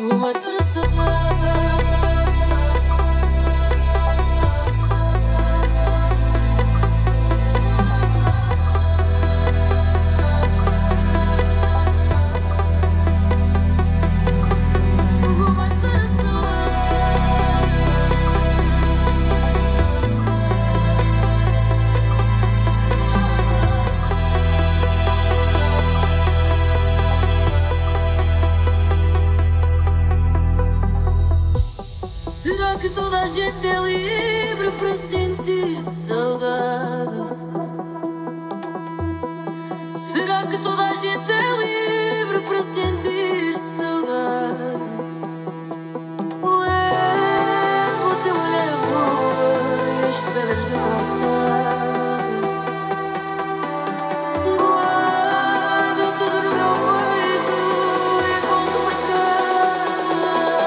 Uma pessoa. Será que toda a gente é livre para sentir saudade? Será que toda a gente é livre para sentir saudade? Levo o teu olhar a voa e as pedras a calçar. Guardo tudo no meu peito e volto para cá.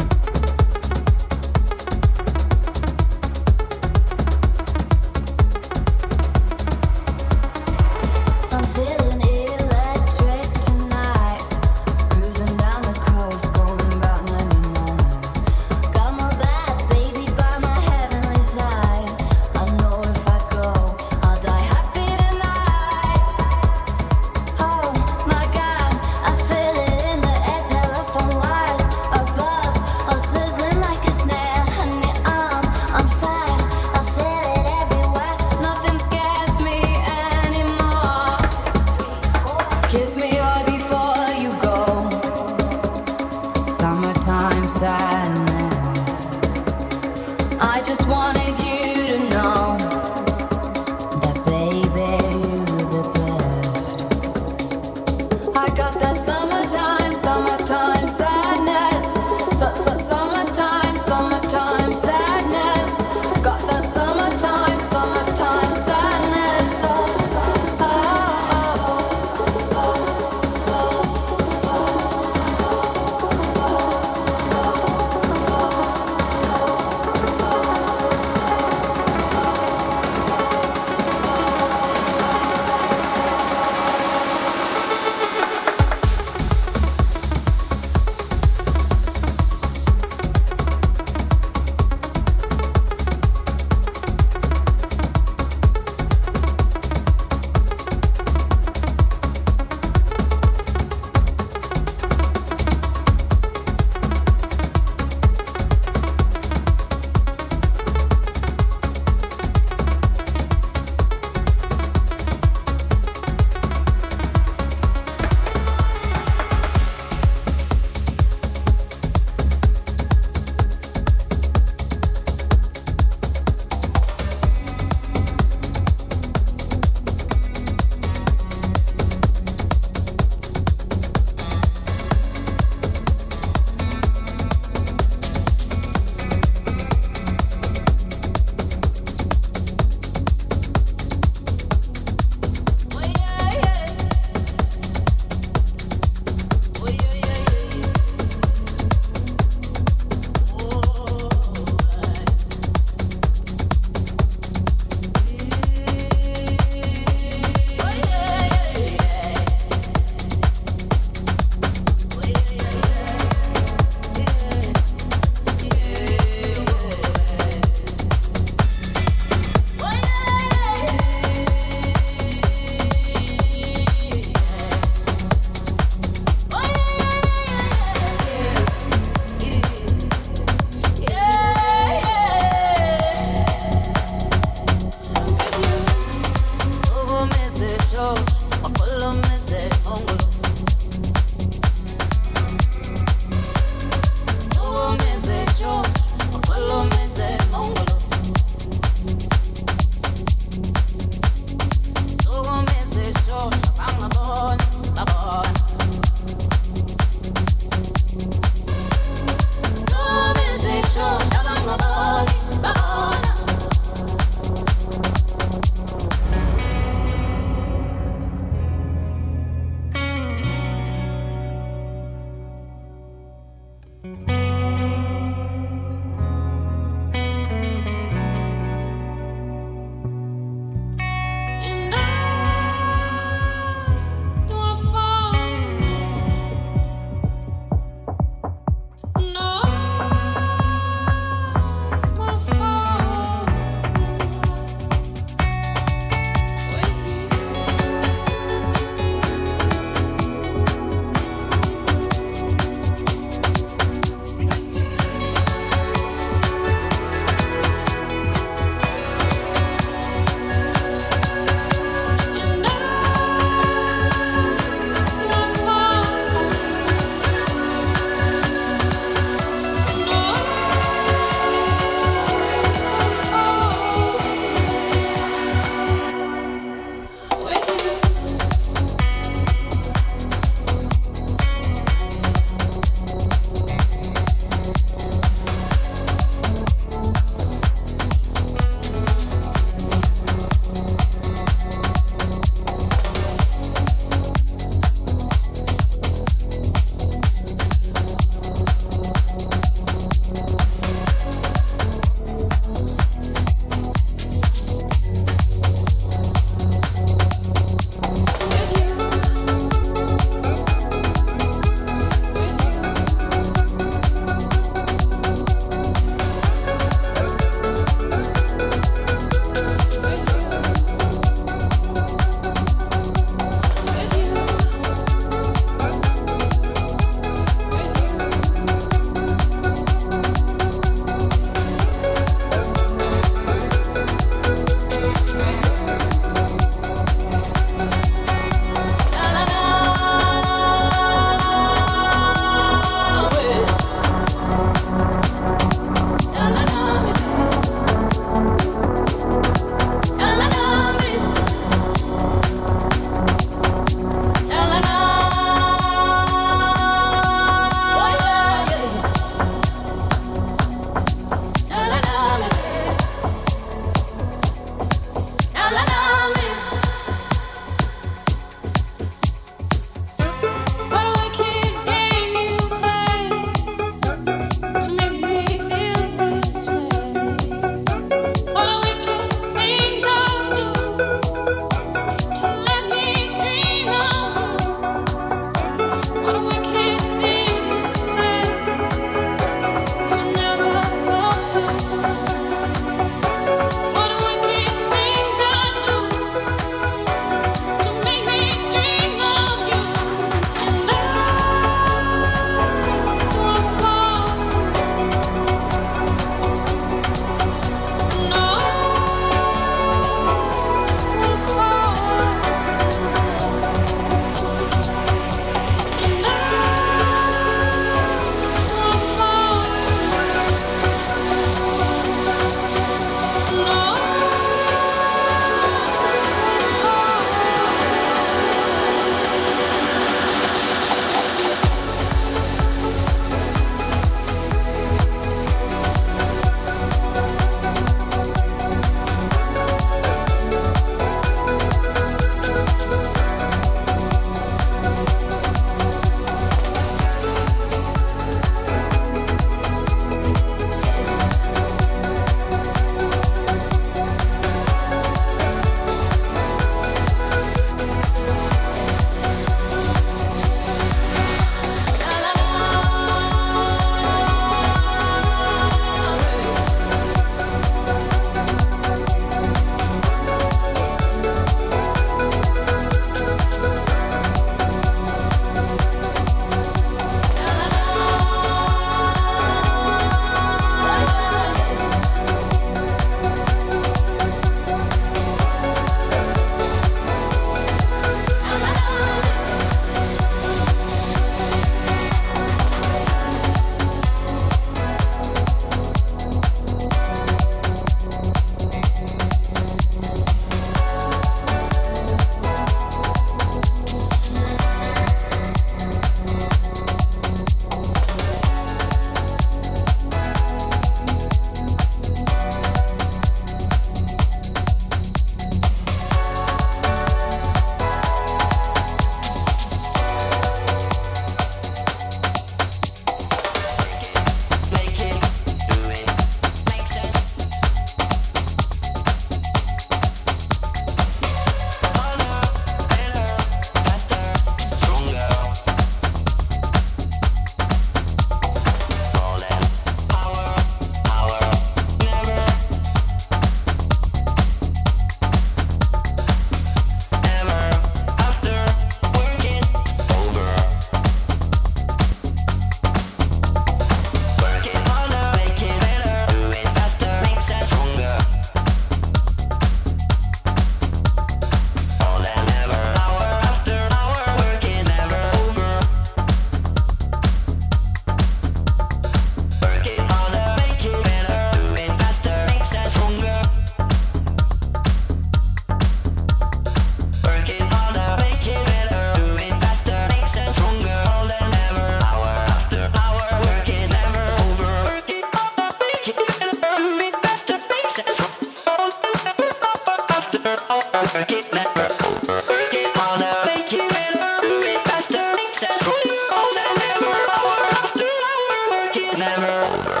work it never over. Work it harder, make it better, do it faster, make sense. All that never, hour after hour, work is never over.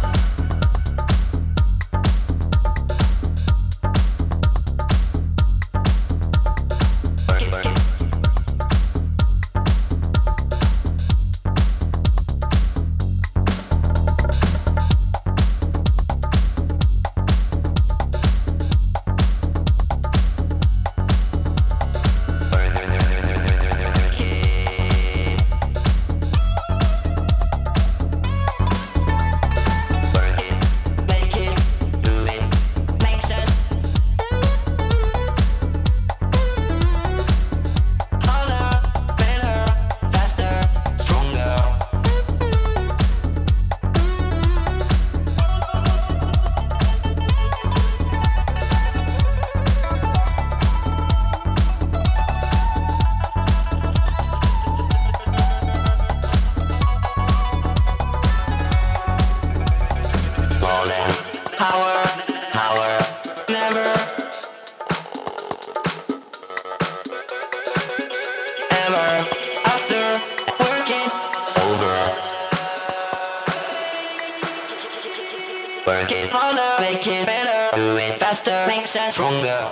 Work it harder, make it better, do it faster, makes us stronger.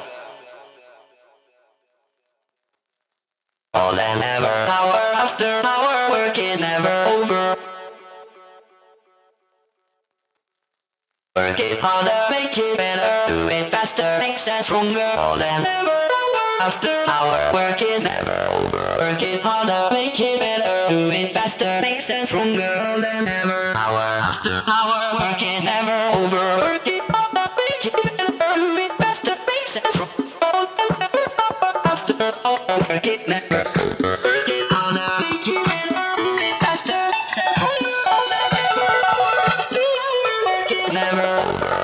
All than ever, hour after hour, work is never over. Work it harder, make it better, do it faster, makes us stronger. All than ever, hour after hour, work is never over. Work it harder, make it better, do it faster, makes us stronger. All than ever, hour after hour, work is never over. Work it harder, make it better, do it faster, makes us stronger. All than ever, hour after hour, work it never over. Work it harder, make it better, do it faster, makes us stronger. All than ever, hour after hour, work is never over.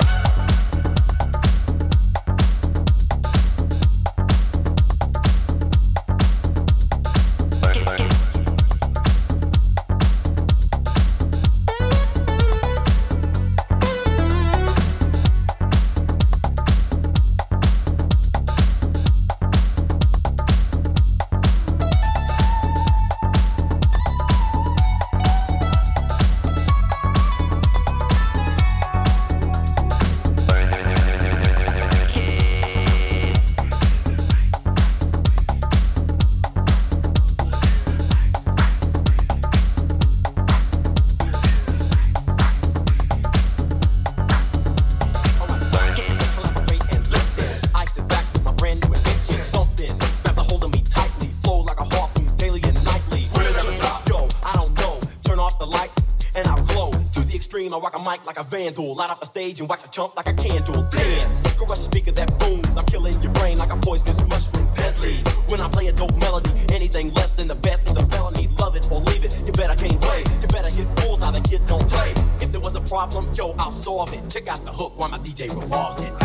I rock a mic like a vandal, light up a stage and wax a chump like a candle. Dance, crush a speaker that booms. I'm killing your brain like a poisonous mushroom. Deadly, when I play a dope melody, anything less than the best is a felony. Love it or leave it, you better can't play. You better hit bulls how the kid don't play. If there was a problem, yo, I'll solve it. Check out the hook while my DJ revolves it.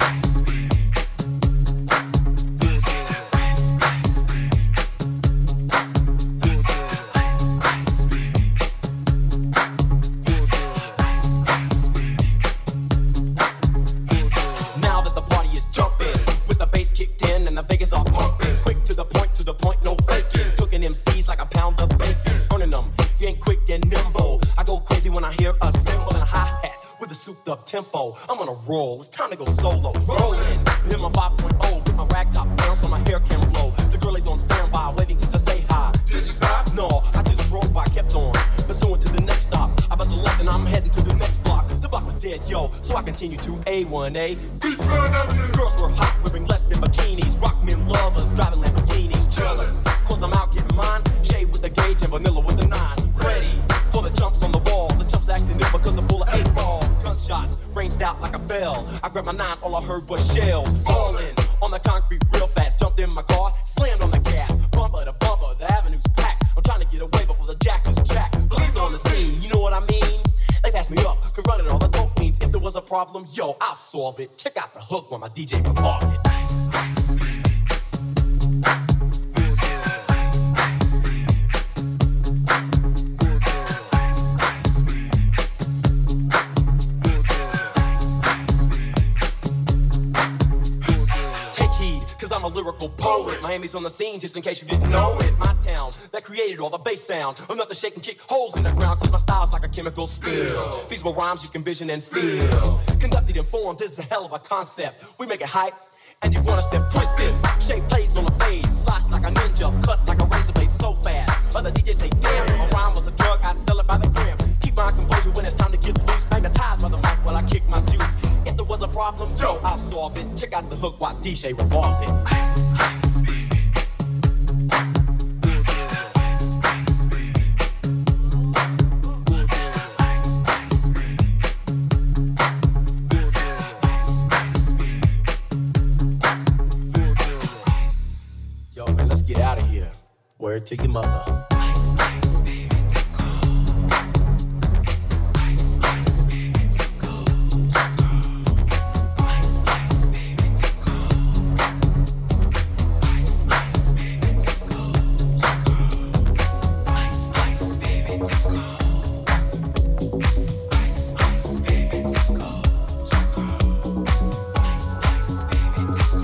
Tempo, I'm on a roll, it's time to go solo. Rolling, hit my 5.0, with my rag top down so my hair can blow. The girl is on standby, waiting just to say hi. Did you stop? No, I just drove by, kept on, pursuing to the next stop. I bust a left and I'm heading to the next block. The block was dead, yo, so I continue to A1A. Girls were hot, wearing less than bikinis. Rock men lovers, driving Lamborghinis. Jealous, cause I'm out getting mine. Shade with the gauge and vanilla with the 9. Ready for the chumps on the wall. The chumps acting ill because I'm full of 8-ball. Gunshots ranged out like a bell. I grabbed my 9, all I heard was shells falling on the concrete real fast. Jumped in my car, slammed on the gas. Bumper to bumper, the avenue's packed. I'm trying to get away before the jackers jack. Police on the scene, you know what I mean? They passed me up, could run it all the dope means. If there was a problem, yo, I'll solve it. Check out the hook when my DJ revolves it. cause I'm a lyrical poet. Miami's on the scene, just in case you didn't know it. My town, that created all the bass sound. Enough to shake and kick holes in the ground, cause my style's like a chemical spill. Feasible rhymes you can vision and feel. Conducted and formed, this is a hell of a concept. We make it hype, and you want us to put this. Shape plays on the fade, slice like a ninja, cut like a razor blade so fast. Other DJs say, damn, if a rhyme was a drug, I'd sell it by the gram. Keep my composure when it's time to get loose. Magnetized by the mic while I kick my juice. If there was a problem, yo, I'll solve it. Check out the hook while DJ revolves it. Ice, ice, baby. Get out of here. Word to your mother. Ice, ice, baby, tickle. Ice, ice, baby, tickle. Ice, ice, baby, tickle. Ice, ice, baby, tickle. Ice, ice, baby, tickle. Ice, ice, baby, tickle. Ice, ice, baby, tickle.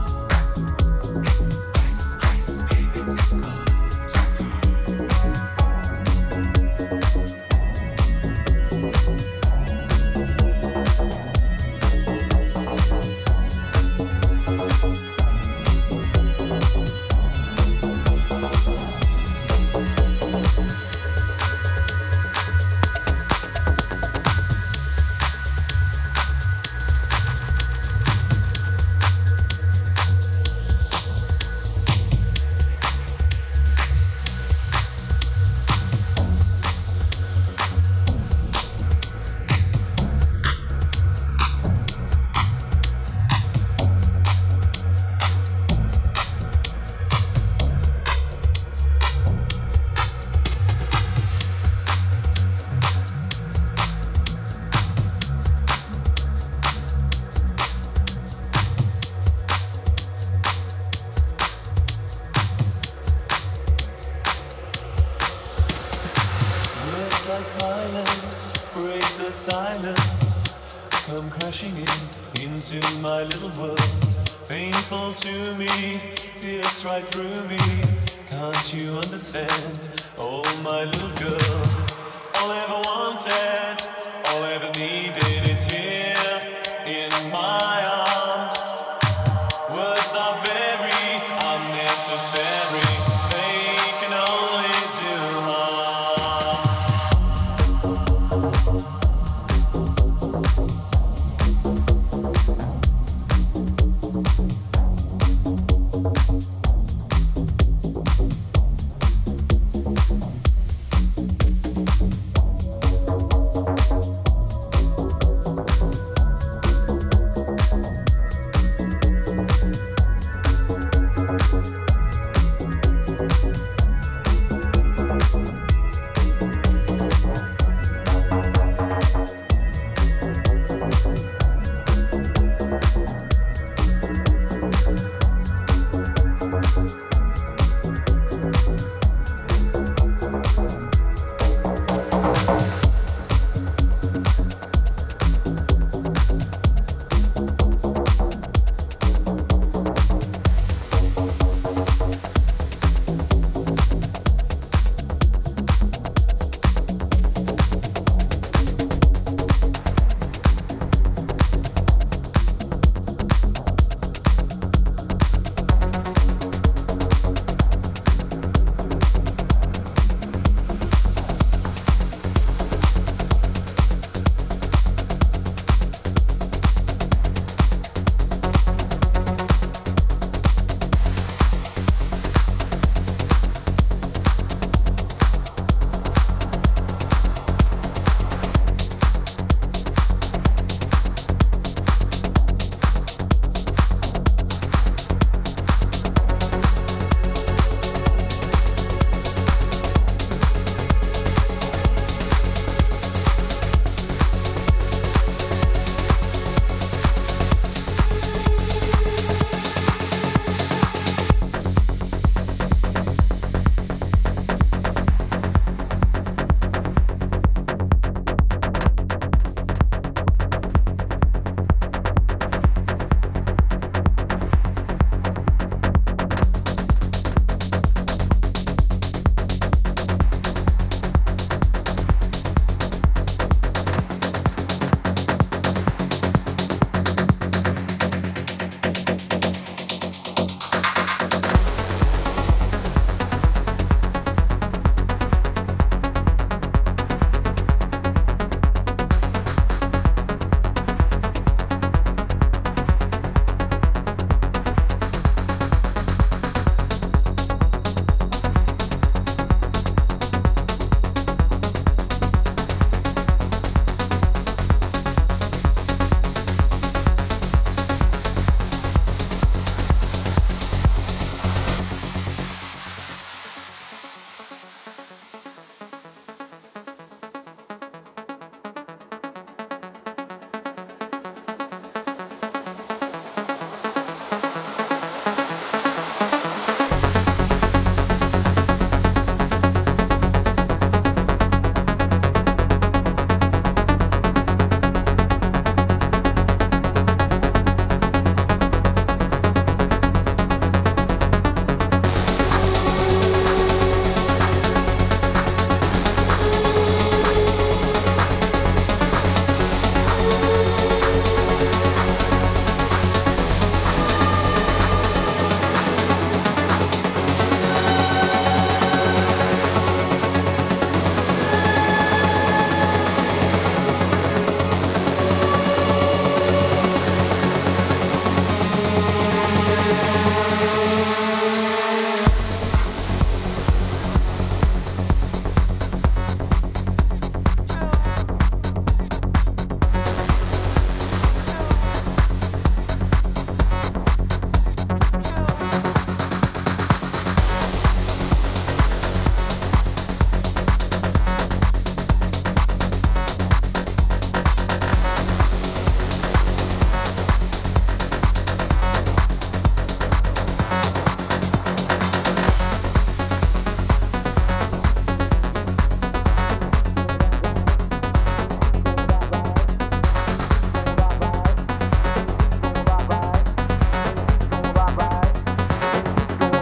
Into my little world, painful to me, pierce right through me. Can't you understand? Oh, my little girl, all I ever wanted, all I ever needed is here in my arms. Words are very unnecessary, they can only do harm.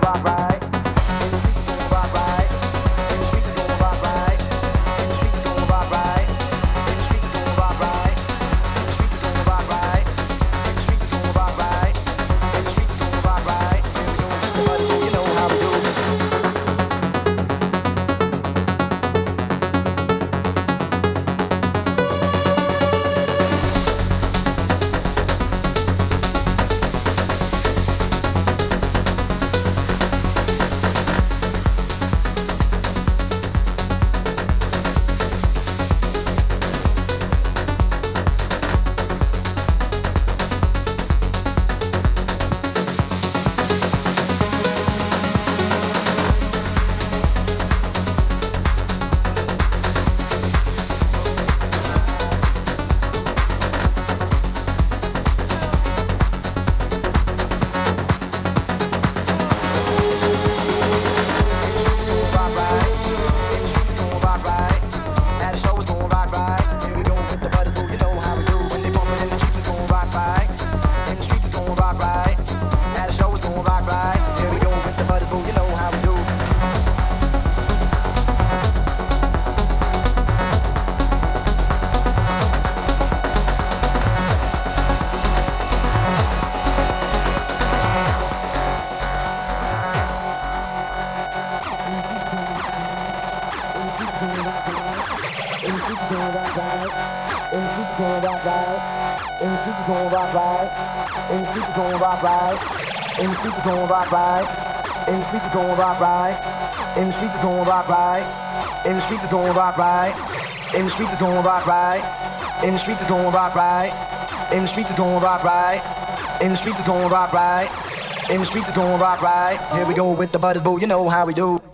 Here we go with the butters, boo, you know how we do.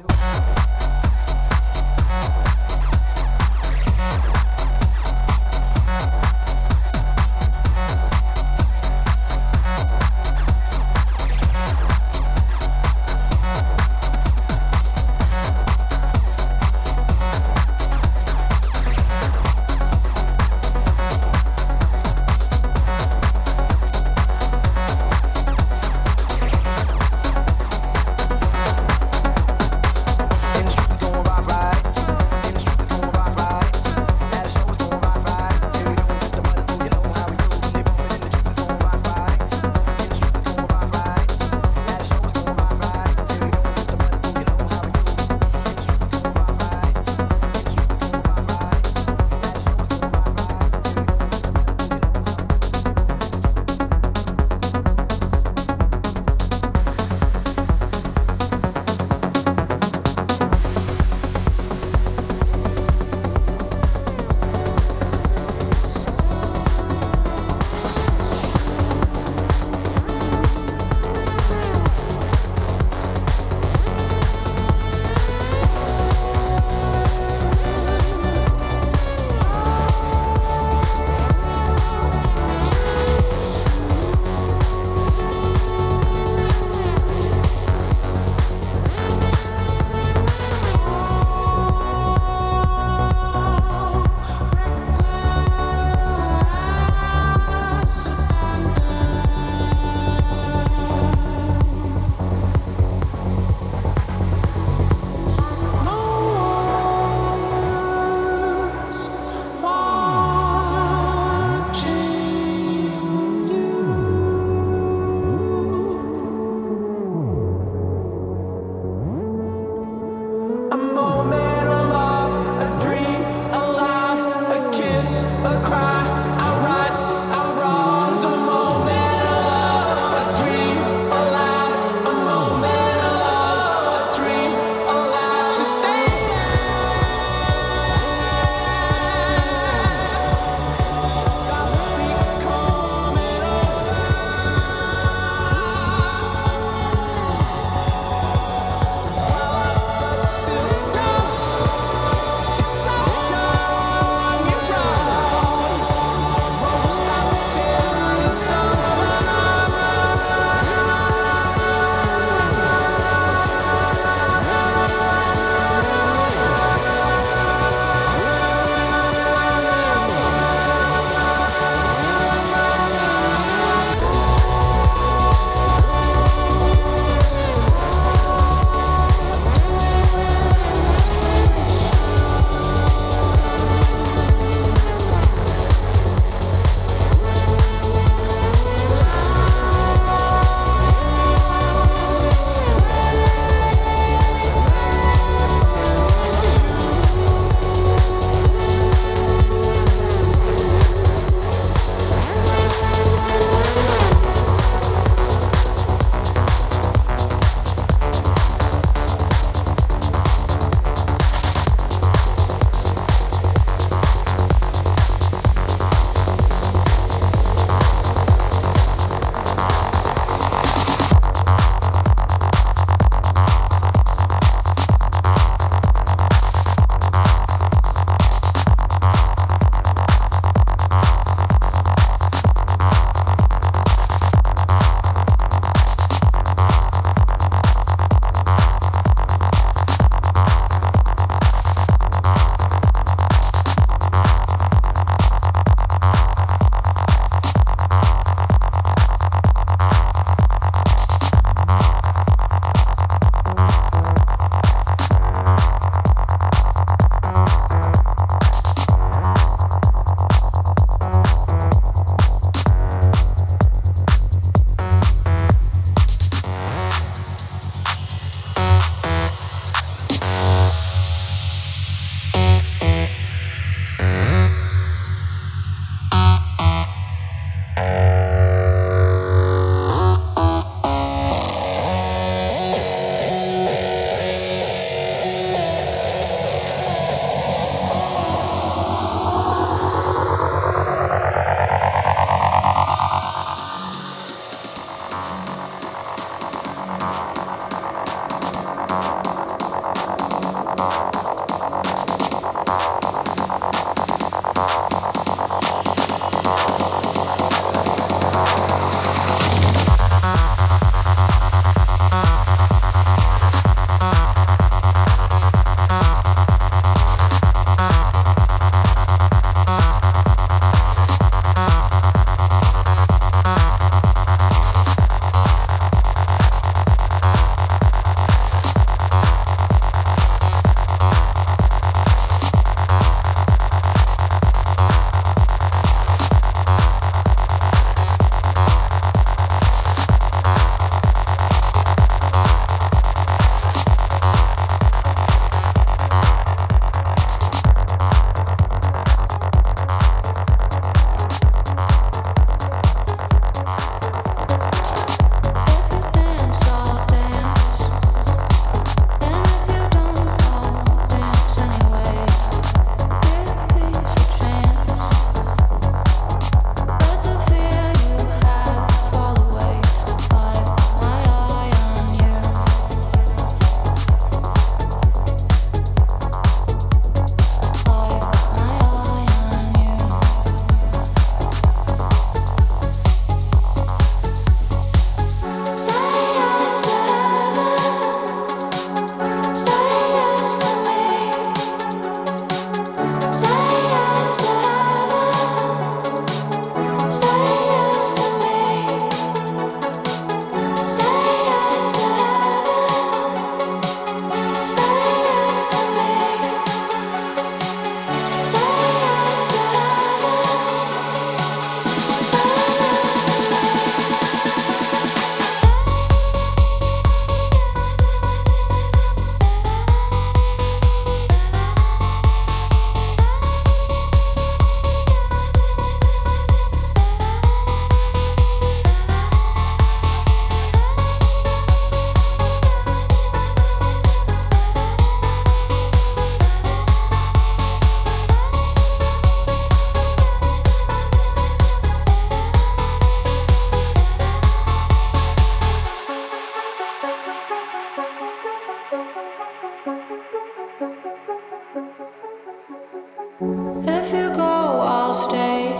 If you go, I'll stay.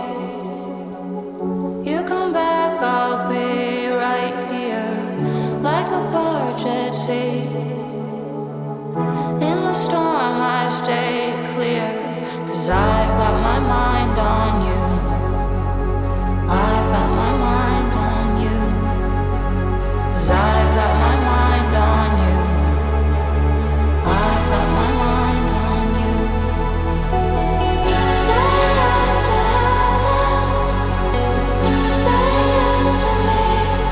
You come back, I'll be right here, like a barge at sea. In the storm, I stay clear, 'cause I've got my mind on you. I've got my mind on you. 'Cause I've got my mind on you. I've got my mind on you. Say yes to heaven. Say yes to me.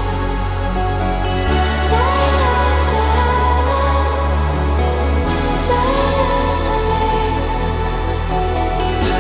Say yes to heaven. Say yes to me.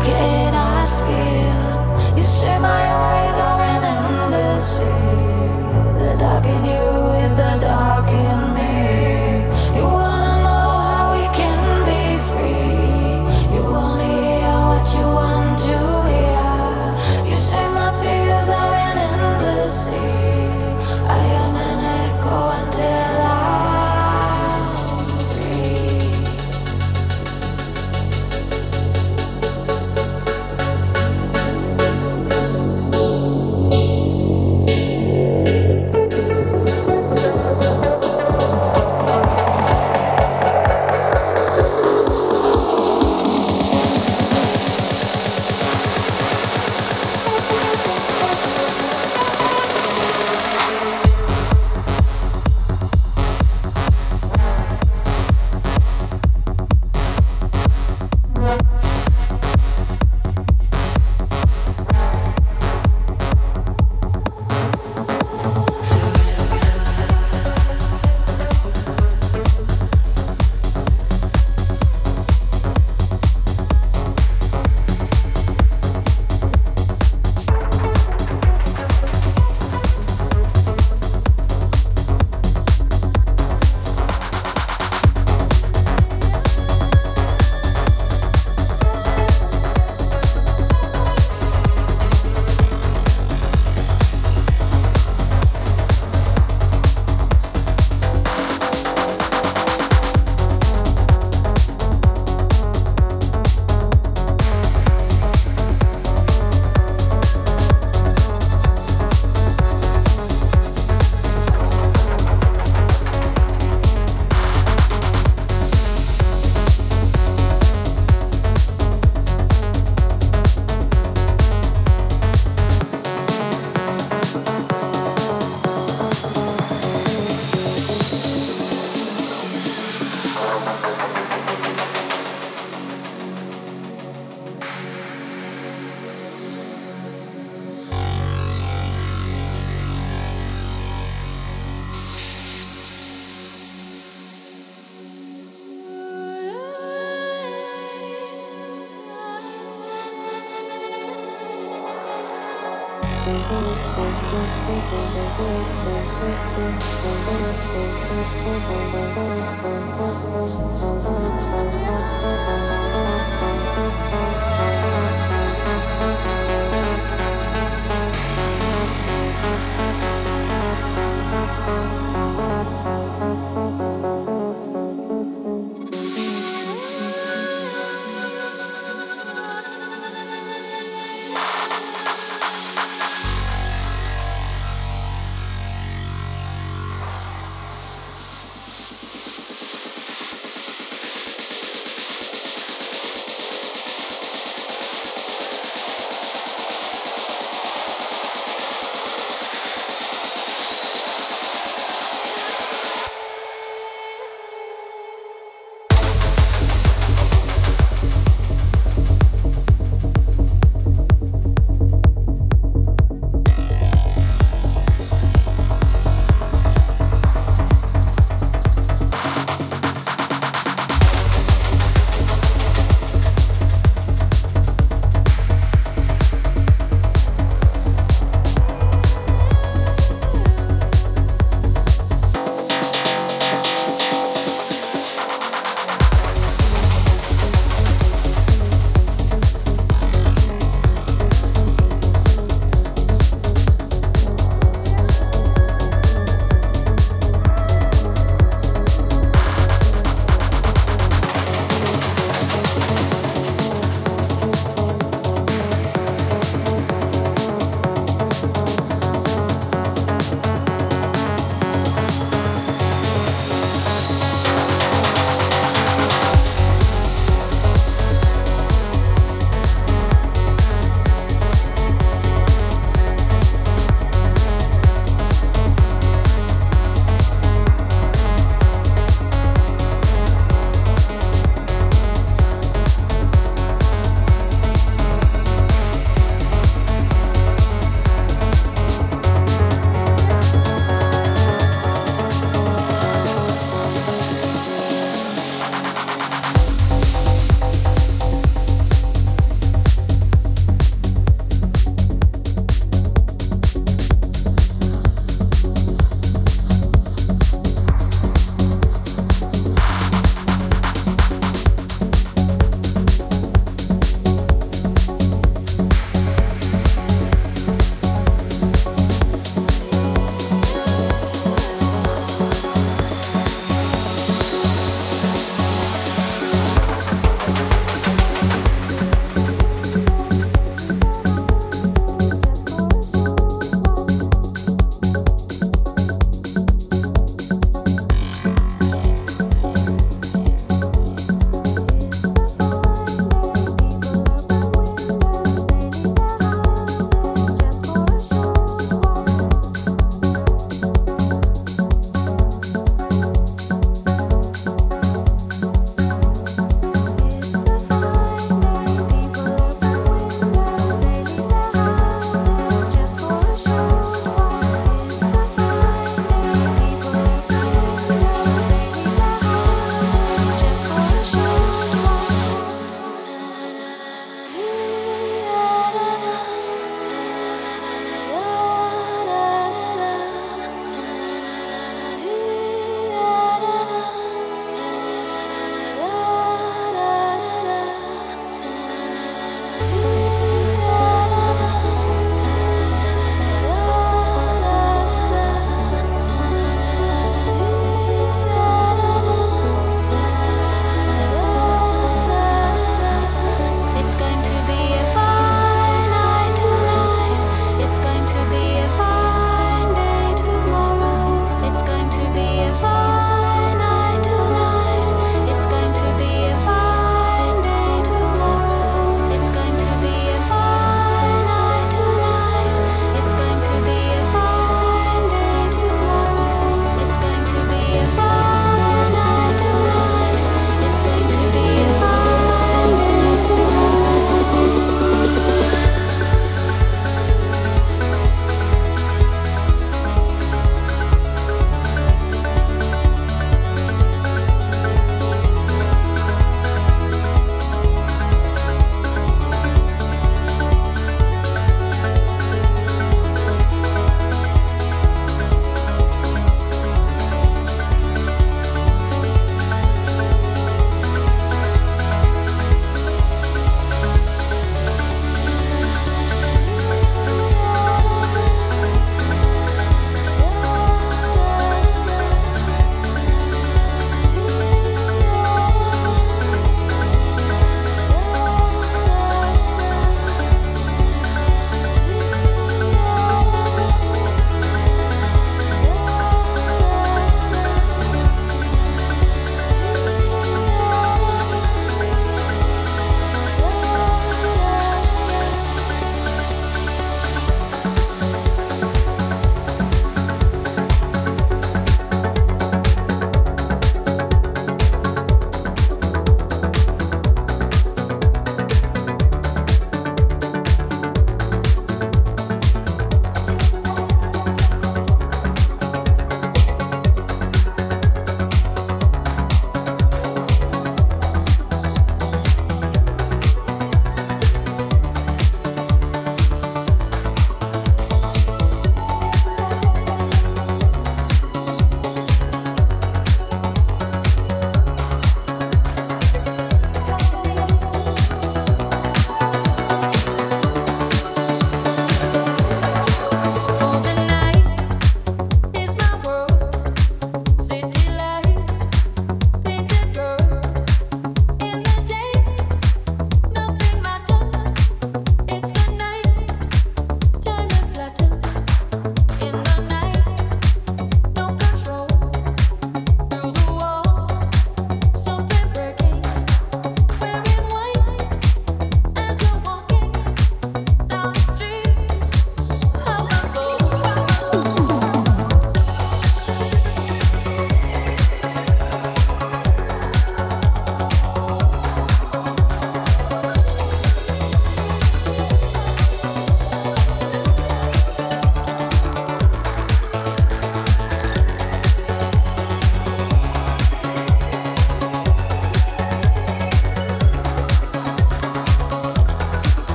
cannot feel. You say my eyes are an endless sea. The dark in you is the dark in me. You wanna know how we can be free. You only hear what you want to hear. You say my tears are an endless sea. I am an echo until I'm free.